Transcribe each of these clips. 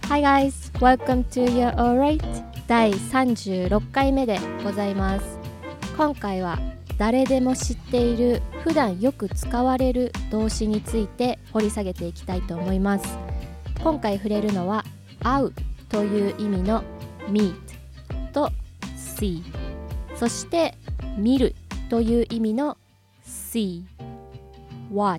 Hi guys, welcome to You're Alright 第36回目でございます。今回は誰でも知っている普段よく使われる動詞について掘り下げていきたいと思います。今回触れるのは会うという意味の meet と see、 そして見るという意味の see、 watch、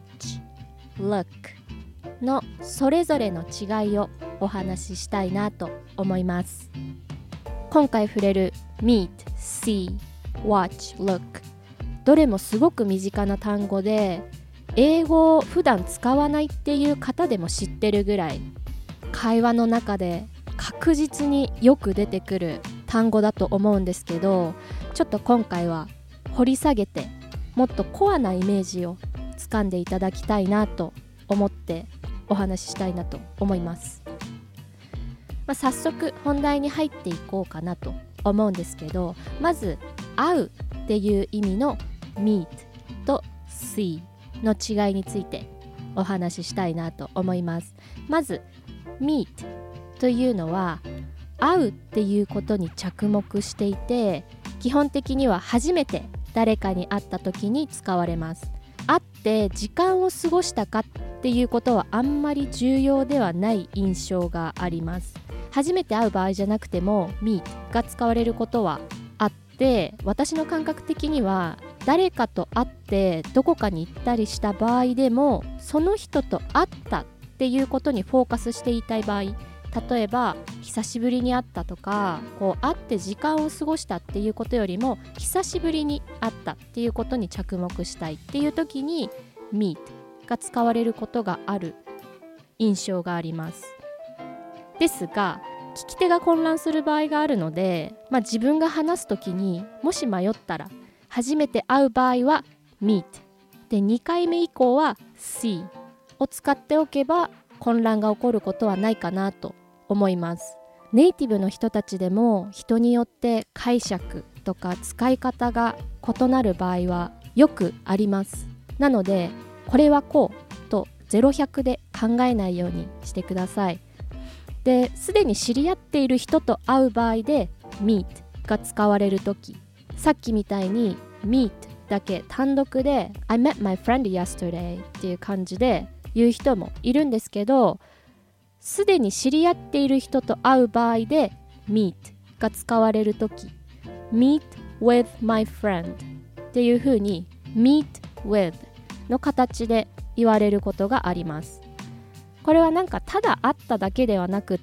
look のそれぞれの違いをお話ししたいなと思います。今回触れる meet、 see、 watch、 look どれもすごく身近な単語で、英語を普段使わないっていう方でも知ってるぐらい会話の中で確実によく出てくる単語だと思うんですけど、ちょっと今回は掘り下げてもっとコアなイメージをつかんでいただきたいなと思ってお話ししたいなと思います。早速本題に入っていこうかなと思うんですけど、まず会うっていう意味の meet と see の違いについてお話ししたいなと思います。まず meet というのは会うっていうことに着目していて、基本的には初めて誰かに会った時に使われます。会って時間を過ごしたかっていうことはあんまり重要ではない印象があります。初めて会う場合じゃなくても meet が使われることはあって、私の感覚的には誰かと会ってどこかに行ったりした場合でも、その人と会ったっていうことにフォーカスしていたい場合、例えば久しぶりに会ったとか、会って時間を過ごしたっていうことよりも久しぶりに会ったっていうことに着目したいっていう時に meet が使われることがある印象があります。ですが聞き手が混乱する場合があるので、自分が話す時にもし迷ったら、初めて会う場合は meet で、2回目以降は see を使っておけば混乱が起こることはないかなと思います。ネイティブの人たちでも人によって解釈とか使い方が異なる場合はよくあります。なのでこれはこうと0-100で考えないようにしてください。で、すでに知り合っている人と会う場合で meet が使われるとき、さっきみたいに meet だけ単独で I met my friend yesterday っていう感じで言う人もいるんですけど、すでに知り合っている人と会う場合で meet が使われるとき、meet with my friend っていう風に meet with の形で言われることがあります。これはただ会っただけではなくって、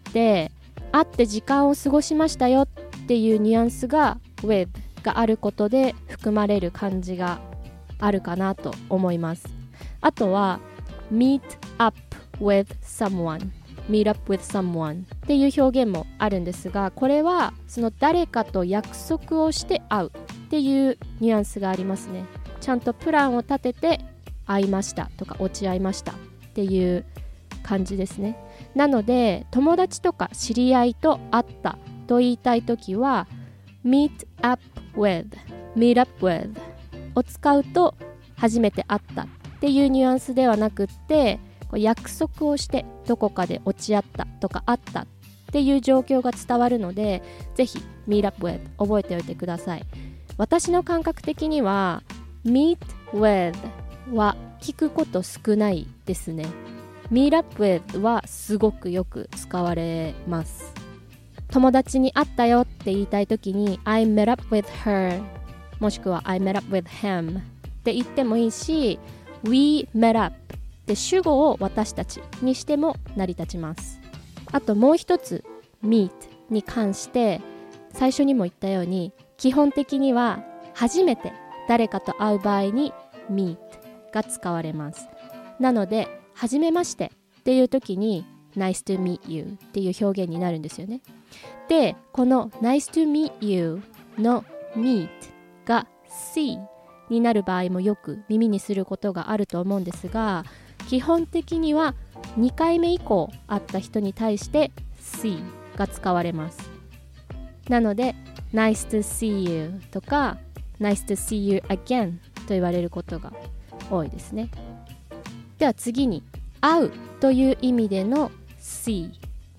会って時間を過ごしましたよっていうニュアンスが with があることで含まれる感じがあるかなと思います。あとは meet up with someone、 meet up with someone っていう表現もあるんですが、これはその誰かと約束をして会うっていうニュアンスがありますね。ちゃんとプランを立てて会いましたとか落ち合いましたっていう感じですね。なので友達とか知り合いと会ったと言いたいときは meet up with を使うと、初めて会ったっていうニュアンスではなくって、約束をしてどこかで落ち合ったとか会ったっていう状況が伝わるので、ぜひ meet up with 覚えておいてください。私の感覚的には meet with は聞くこと少ないですね。meet up with はすごくよく使われます。友達に会ったよって言いたいときに I met up with her もしくは I met up with him って言ってもいいし、 We met up って主語を私たちにしても成り立ちます。あともう一つ meet に関して、最初にも言ったように基本的には初めて誰かと会う場合に meet が使われます。なのではじめましてっていう時に Nice to meet you っていう表現になるんですよね。で、この Nice to meet you の meet が see になる場合もよく耳にすることがあると思うんですが、基本的には2回目以降会った人に対して see が使われます。なので Nice to see you とか Nice to see you again と言われることが多いですね。では次に会うという意味での see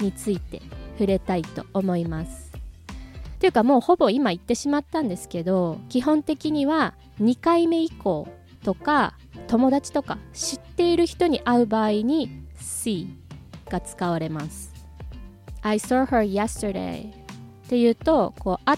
について触れたいと思います。というかもうほぼ今言ってしまったんですけど、基本的には2回目以降とか友達とか知っている人に会う場合に see が使われます。 I saw her yesterday っていうとこう会って、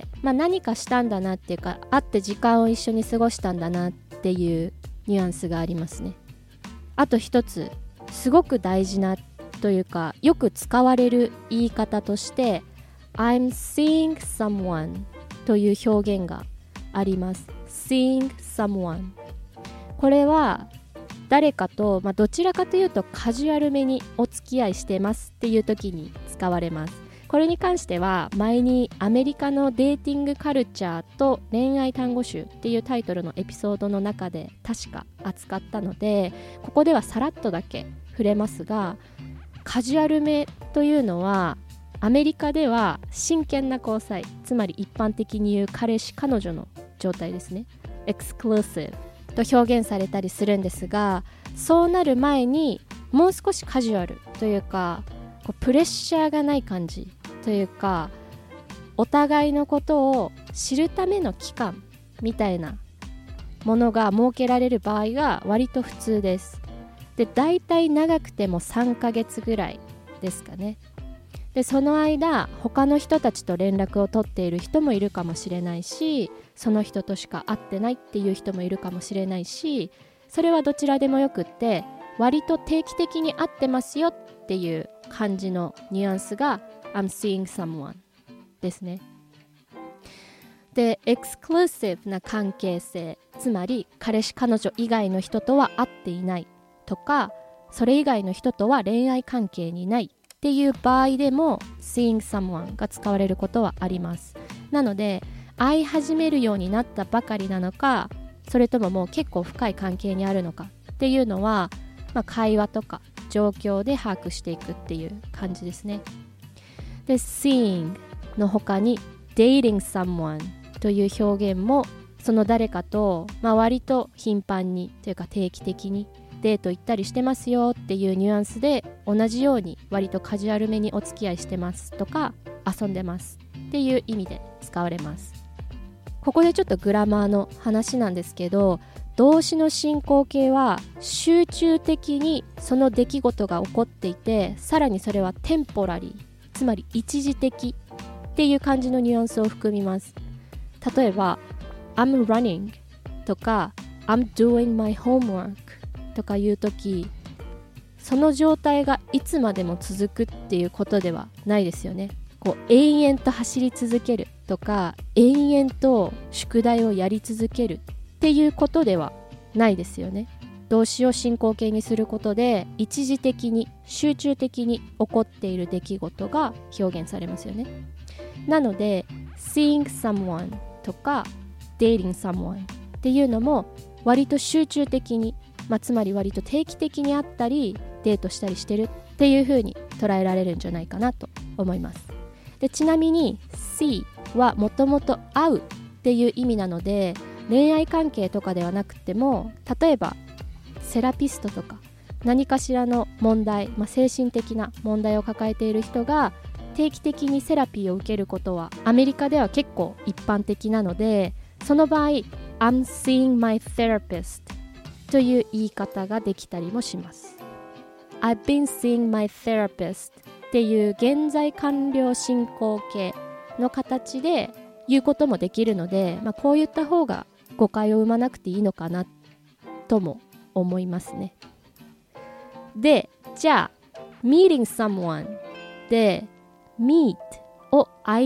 何かしたんだなっていうか、会って時間を一緒に過ごしたんだなっていうニュアンスがありますね。あと一つすごく大事なというかよく使われる言い方として I'm seeing someone という表現があります。 seeing someone、 これは誰かと、どちらかというとカジュアルめにお付き合いしてますっていう時に使われます。これに関しては前にアメリカのデーティングカルチャーと恋愛単語集っていうタイトルのエピソードの中で確か扱ったので、ここではさらっとだけ触れますが、カジュアルめというのはアメリカでは真剣な交際、つまり一般的に言う彼氏彼女の状態ですね、エクスクルーシブと表現されたりするんですが、そうなる前にもう少しカジュアルというかこうプレッシャーがない感じというか、お互いのことを知るための期間みたいなものが設けられる場合が割と普通です。で、だいたい長くても3ヶ月ぐらいですかね。で、その間他の人たちと連絡を取っている人もいるかもしれないし、その人としか会ってないっていう人もいるかもしれないし、それはどちらでもよくって割と定期的に会ってますよっていう感じのニュアンスが I'm seeing someone ですね。で、エクスクルーシブな関係性、つまり彼氏彼女以外の人とは会っていないとか、それ以外の人とは恋愛関係にないっていう場合でも seeing someone が使われることはあります。なので会い始めるようになったばかりなのか、それとももう結構深い関係にあるのかっていうのは、会話とか状況で把握していくっていう感じですね。で、seeing の他に dating someone という表現もその誰かと、割と頻繁にというか定期的にデート行ったりしてますよっていうニュアンスで、同じように割とカジュアルめにお付き合いしてますとか遊んでますっていう意味で使われます。ここでちょっとグラマーの話なんですけど、動詞の進行形は集中的にその出来事が起こっていて、さらにそれはテンポラリー、つまり一時的っていう感じのニュアンスを含みます。例えば I'm running とか I'm doing my homework とかいうとき、その状態がいつまでも続くっていうことではないですよね。こう延々と走り続けるとか延々と宿題をやり続けるっていうことではないですよね。動詞を進行形にすることで一時的に集中的に起こっている出来事が表現されますよね。なので seeing someone とか dating someone っていうのも割と集中的に、つまり割と定期的に会ったりデートしたりしてるっていう風に捉えられるんじゃないかなと思います。で、ちなみに see はもともと会うっていう意味なので、恋愛関係とかではなくても、例えばセラピストとか何かしらの問題、精神的な問題を抱えている人が定期的にセラピーを受けることはアメリカでは結構一般的なので、その場合 I'm seeing my therapist という言い方ができたりもします。 I've been seeing my therapist っていう現在完了進行形の形で言うこともできるので、こういった方が誤解を生まなくていいのかなとも思いますね。で、じゃあ meeting someone で meet を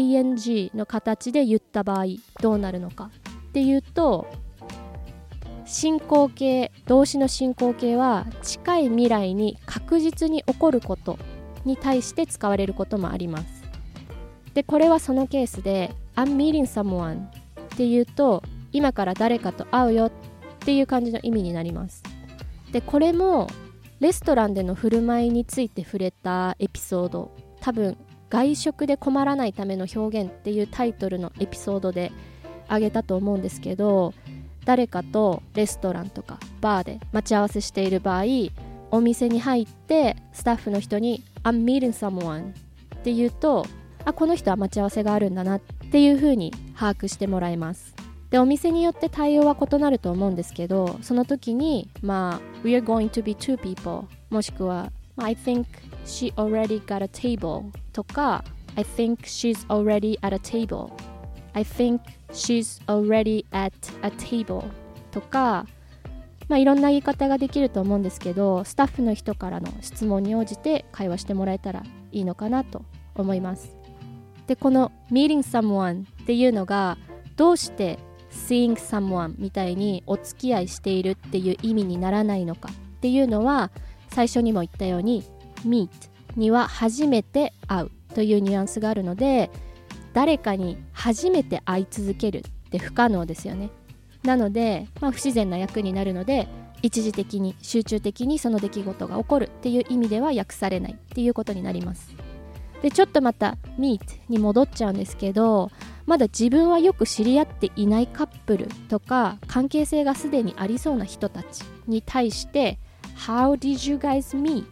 ing の形で言った場合どうなるのかっていうと、進行形、動詞の進行形は近い未来に確実に起こることに対して使われることもあります。で、これはそのケースで I'm meeting someone っていうと今から誰かと会うよっていう感じの意味になります。で、これもレストランでの振る舞いについて触れたエピソード、多分外食で困らないための表現っていうタイトルのエピソードであげたと思うんですけど、誰かとレストランとかバーで待ち合わせしている場合、お店に入ってスタッフの人に I'm meeting someone っていうと、この人は待ち合わせがあるんだなっていう風に把握してもらえます。で、お店によって対応は異なると思うんですけど、その時にWe are going to be two people もしくはI think she already got a table とか I think she's already at a table I think she's already at a table とか、いろんな言い方ができると思うんですけど、スタッフの人からの質問に応じて会話してもらえたらいいのかなと思います。で、この meeting someone っていうのがどうして seeing someone みたいにお付き合いしているっていう意味にならないのかっていうのは、最初にも言ったように meet には初めて会うというニュアンスがあるので、誰かに初めて会い続けるって不可能ですよね。なので、不自然な訳になるので、一時的に集中的にその出来事が起こるっていう意味では訳されないっていうことになります。で、ちょっとまた meet に戻っちゃうんですけど、まだ自分はよく知り合っていないカップルとか関係性がすでにありそうな人たちに対して How did you guys meet?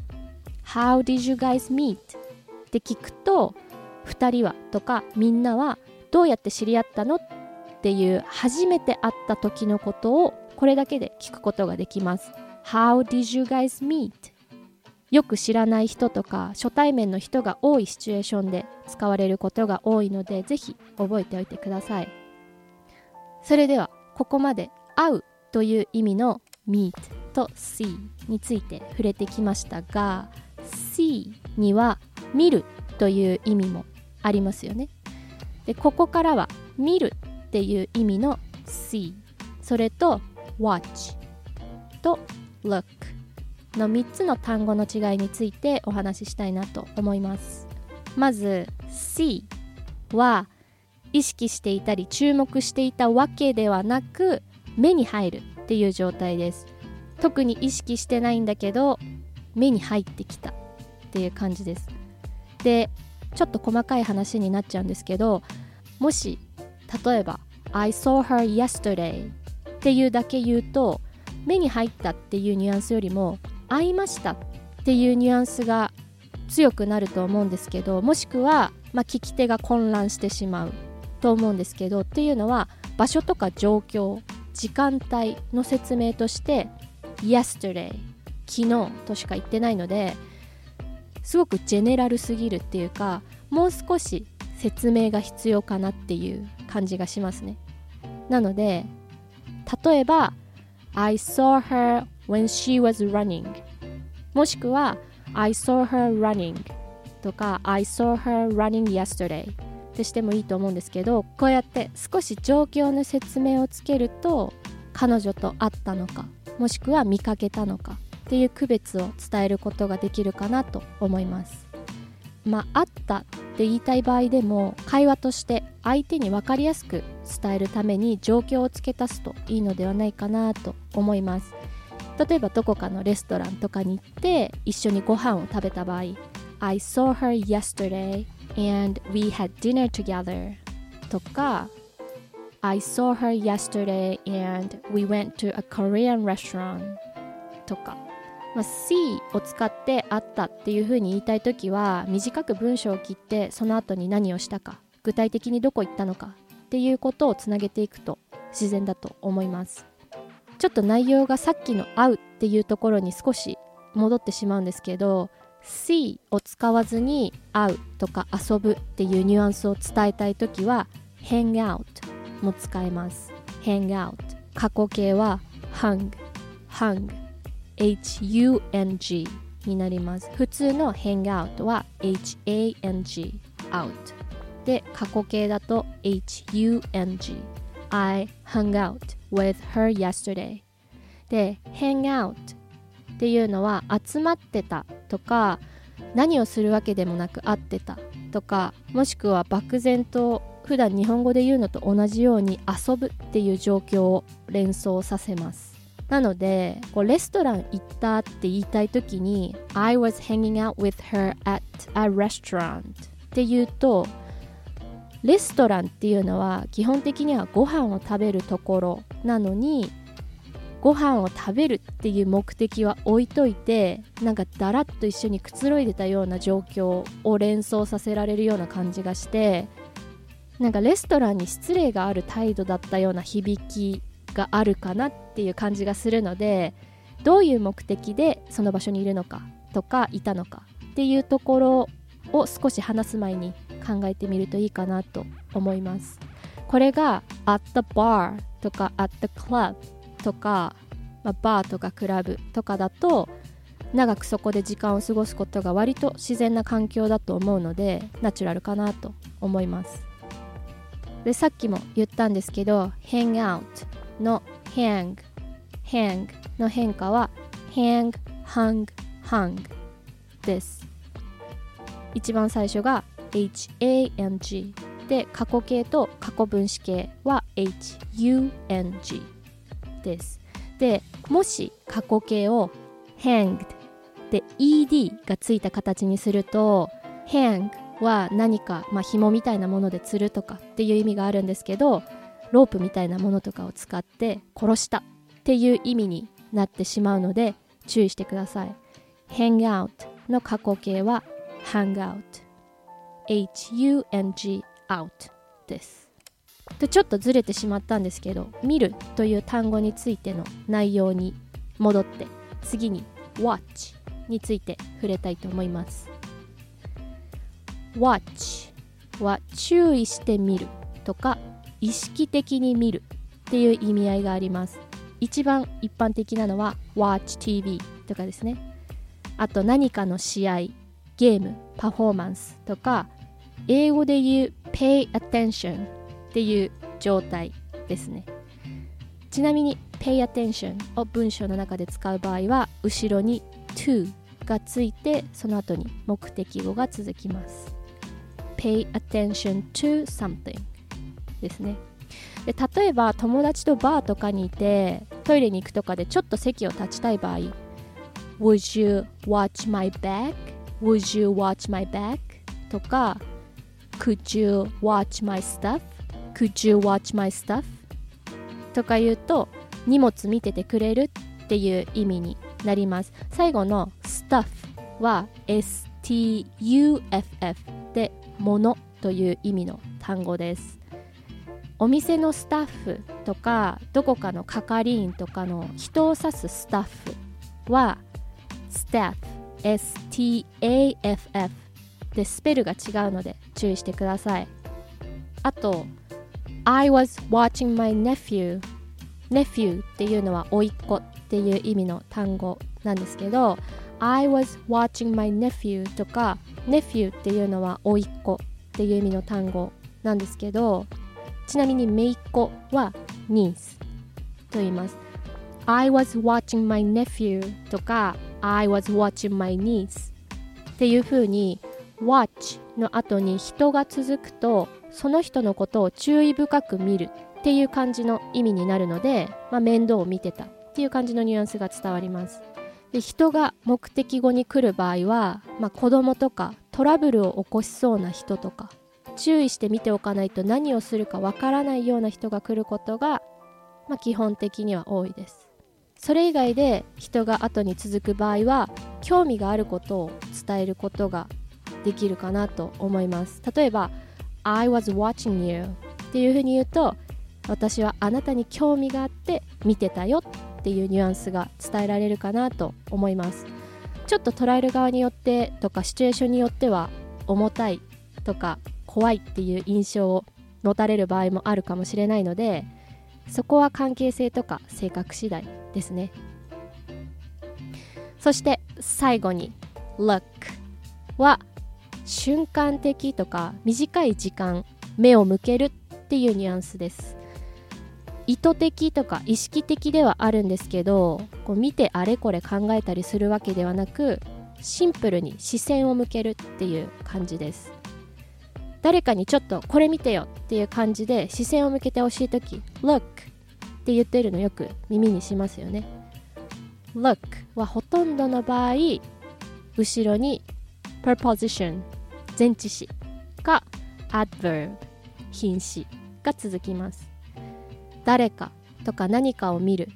How did you guys meet? って聞くと、2人はとかみんなはどうやって知り合ったのっていう初めて会った時のことをこれだけで聞くことができます。How did you guys meet? よく知らない人とか初対面の人が多いシチュエーションで使われることが多いので、ぜひ覚えておいてください。それではここまで会うという意味の meet と see について触れてきましたが、 see には見るという意味もありますよね。で、ここからは見るっていう意味の see、 それと watch と look の3つの単語の違いについてお話ししたいなと思います。まず see は意識していたり注目していたわけではなく、目に入るっていう状態です。特に意識してないんだけど目に入ってきたっていう感じです。で、ちょっと細かい話になっちゃうんですけど、もし例えば I saw her yesterday っていうだけ言うと、目に入ったっていうニュアンスよりも会いましたっていうニュアンスが強くなると思うんですけど、もしくは、聞き手が混乱してしまうと思うんですけど、っていうのは場所とか状況、時間帯の説明として yesterday 昨日としか言ってないので、すごくジェネラルすぎるっていうか、もう少し説明が必要かなっていう感じがしますね。なので例えば I saw her when she was running もしくは I saw her running とか I saw her running yesterday ってしてもいいと思うんですけど、こうやって少し状況の説明をつけると、彼女と会ったのかもしくは見かけたのかっていう区別を伝えることができるかなと思います。会ったって言いたい場合でも、会話として相手に分かりやすく伝えるために状況を付け足すといいのではないかなと思います。例えばどこかのレストランとかに行って一緒にご飯を食べた場合、 I saw her yesterday and we had dinner together とか I saw her yesterday and we went to a Korean restaurant とか、see を使って会ったっていう風に言いたいときは、短く文章を切ってその後に何をしたか、具体的にどこ行ったのかっていうことをつなげていくと自然だと思います。ちょっと内容がさっきの会うっていうところに少し戻ってしまうんですけど、see を使わずに会うとか遊ぶっていうニュアンスを伝えたいときは hang out も使えます。 hang out 過去形は hung HUNG になります。普通の hang out は HANG out で、過去形だと HUNG I hung out with her yesterday で、hang out っていうのは集まってたとか、何をするわけでもなく会ってたとか、もしくは漠然と普段日本語で言うのと同じように遊ぶっていう状況を連想させます。なのでレストラン行ったって言いたいときに I was hanging out with her at a restaurant って言うと、レストランっていうのは基本的にはご飯を食べるところなのに、 ご飯を食べるっていう目的は置いといて、なんかだらっと一緒にくつろいでたような状況を連想させられるような感じがして、なんかレストランに失礼がある態度だったような響きがあるかなっていう感じがするので、どういう目的でその場所にいるのかとかいたのかっていうところを少し話す前に考えてみるといいかなと思います。これが at the bar とか at the club とか、バーとかクラブとかだと長くそこで時間を過ごすことが割と自然な環境だと思うので、ナチュラルかなと思います。で、さっきも言ったんですけど hang out の hang の変化は hang hung です。一番最初が hang で、過去形と過去分詞形は hung です。で、もし過去形を hanged で ed がついた形にすると、 hang は何か、紐みたいなもので釣るとかっていう意味があるんですけど、ロープみたいなものとかを使って殺したっていう意味になってしまうので注意してください。 hang out の過去形は hang out hung out です。で、ちょっとずれてしまったんですけど、見るという単語についての内容に戻って、次に watch について触れたいと思います。 watch は注意して見るとか意識的に見るっていう意味合いがあります。一番一般的なのは watch TV とかですね。あと何かの試合、ゲーム、パフォーマンスとか、英語で言う pay attention っていう状態ですね。ちなみに pay attention を文章の中で使う場合は、後ろに to がついて、その後に目的語が続きます。pay attention to something ですね。で、例えば友達とバーとかにいて、トイレに行くとかでちょっと席を立ちたい場合、 Would you watch my bag? Would you watch my bag? とか、Could you watch my stuff?Could you watch my stuff? とか言うと、荷物見ててくれるっていう意味になります。最後の stuff は stuff で物という意味の単語です。お店のスタッフとか、どこかの係員とかの人を指すスタッフは staff staff で、スペルが違うので注意してください。あとI was watching my nephew っていうのは甥っ子っていう意味の単語なんですけど、 I was watching my nephew とか nephew っていうのは甥っ子っていう意味の単語なんですけど、ちなみに姪っ子は niece と言います。 I was watching my nephew とか I was watching my niece っていう風に watch の後に人が続くと、その人のことを注意深く見るっていう感じの意味になるので、面倒を見てたっていう感じのニュアンスが伝わります。で、人が目的語に来る場合は、子供とかトラブルを起こしそうな人とか、注意して見ておかないと何をするかわからないような人が来ることが、基本的には多いです。それ以外で人が後に続く場合は、興味があることを伝えることができるかなと思います。例えばI was watching you っていうふうに言うと、私はあなたに興味があって見てたよっていうニュアンスが伝えられるかなと思います。ちょっと捉える側によってとかシチュエーションによっては重たいとか怖いっていう印象を持たれる場合もあるかもしれないので、そこは関係性とか性格次第ですね。そして最後に look は瞬間的とか短い時間目を向けるっていうニュアンスです。意図的とか意識的ではあるんですけど、こう見てあれこれ考えたりするわけではなく、シンプルに視線を向けるっていう感じです。誰かにちょっとこれ見てよっていう感じで視線を向けてほしいとき Look って言ってるのよく耳にしますよね。 Look はほとんどの場合後ろにpreposition 前置詞か adverb 品詞が続きます。誰かとか何かを見る、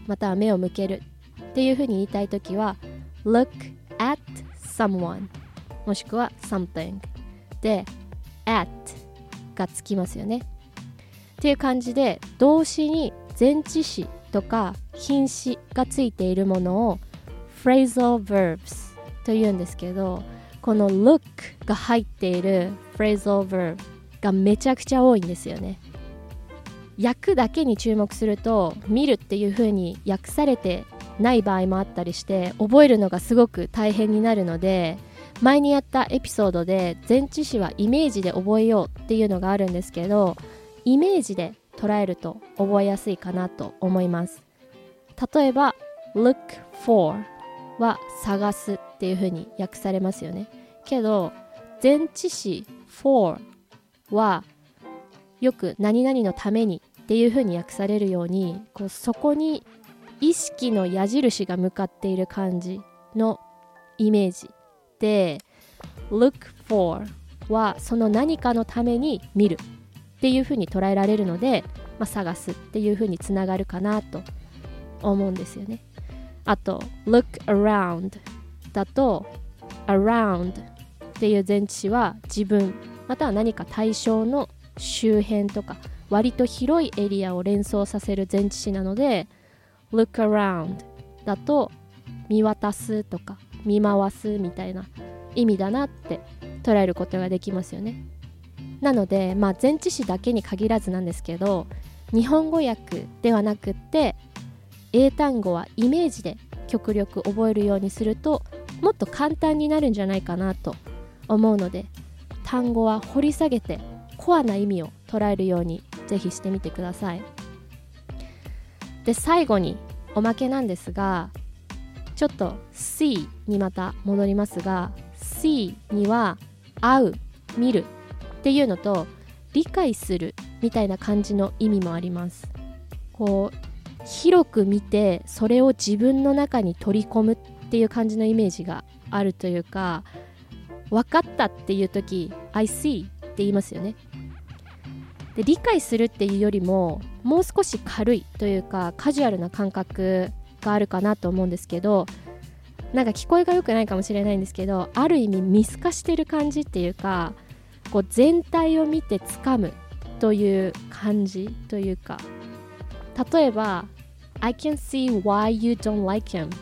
または目を向けるっていうふうに言いたいときは look at someone もしくは something で at がつきますよねっていう感じで、動詞に前置詞とか品詞がついているものを phrasal verbs というんですけど、この look が入っている phrasal verb がめちゃくちゃ多いんですよね。訳だけに注目すると見るっていう風に訳されてない場合もあったりして、覚えるのがすごく大変になるので、前にやったエピソードで前置詞はイメージで覚えようっていうのがあるんですけど、イメージで捉えると覚えやすいかなと思います。例えば look for は探すっていう風に訳されますよね。けど前置詞 for はよく何々のためにっていう風に訳されるように、こうそこに意識の矢印が向かっている感じのイメージで、 look for はその何かのために見るっていう風に捉えられるので、探すっていう風につながるかなと思うんですよね。あと look around だと around っていう前置詞は自分または何か対象の周辺とか割と広いエリアを連想させる前置詞なので look around だと見渡すとか見回すみたいな意味だなって捉えることができますよね。なので、前置詞だけに限らずなんですけど、日本語訳ではなくって英単語はイメージで極力覚えるようにするともっと簡単になるんじゃないかなと思うので、単語は掘り下げてコアな意味を捉えるようにぜひしてみてください。で、最後におまけなんですが、ちょっと see にまた戻りますが、 see には会う、見るっていうのと理解するみたいな感じの意味もあります。こう広く見てそれを自分の中に取り込むっていう感じのイメージがあるというか、分かったっていう時 I see って言いますよね。で、理解するっていうよりももう少し軽いというかカジュアルな感覚があるかなと思うんですけど、なんか聞こえが良くないかもしれないんですけど、ある意味見透かしてる感じっていうか、こう全体を見て掴むという感じというか、例えば I can see why you don't like him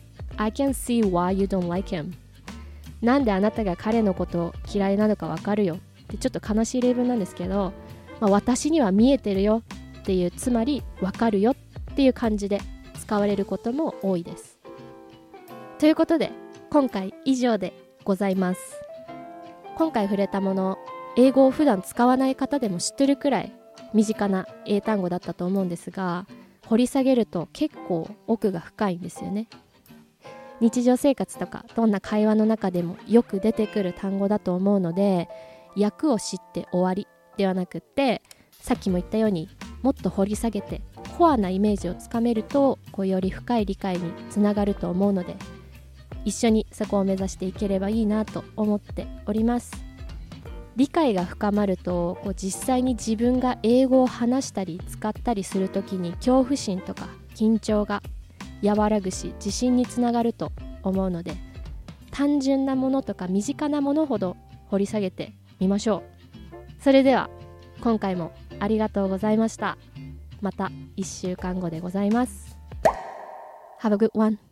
I can see why you don't like him なんであなたが彼のこと嫌いなのか分かるよってちょっと悲しい例文なんですけど、私には見えてるよっていう、つまり分かるよっていう感じで使われることも多いです。ということで今回以上でございます。今回触れたもの、英語を普段使わない方でも知ってるくらい身近な英単語だったと思うんですが、掘り下げると結構奥が深いんですよね。日常生活とかどんな会話の中でもよく出てくる単語だと思うので、訳を知って終わりではなくって、さっきも言ったようにもっと掘り下げてコアなイメージをつかめると、より深い理解につながると思うので、一緒にそこを目指していければいいなと思っております。理解が深まると、実際に自分が英語を話したり使ったりするときに恐怖心とか緊張が和らぐし、自信につながると思うので、単純なものとか身近なものほど掘り下げてみましょう。それでは今回もありがとうございました。また1週間後でございます。Have a good one.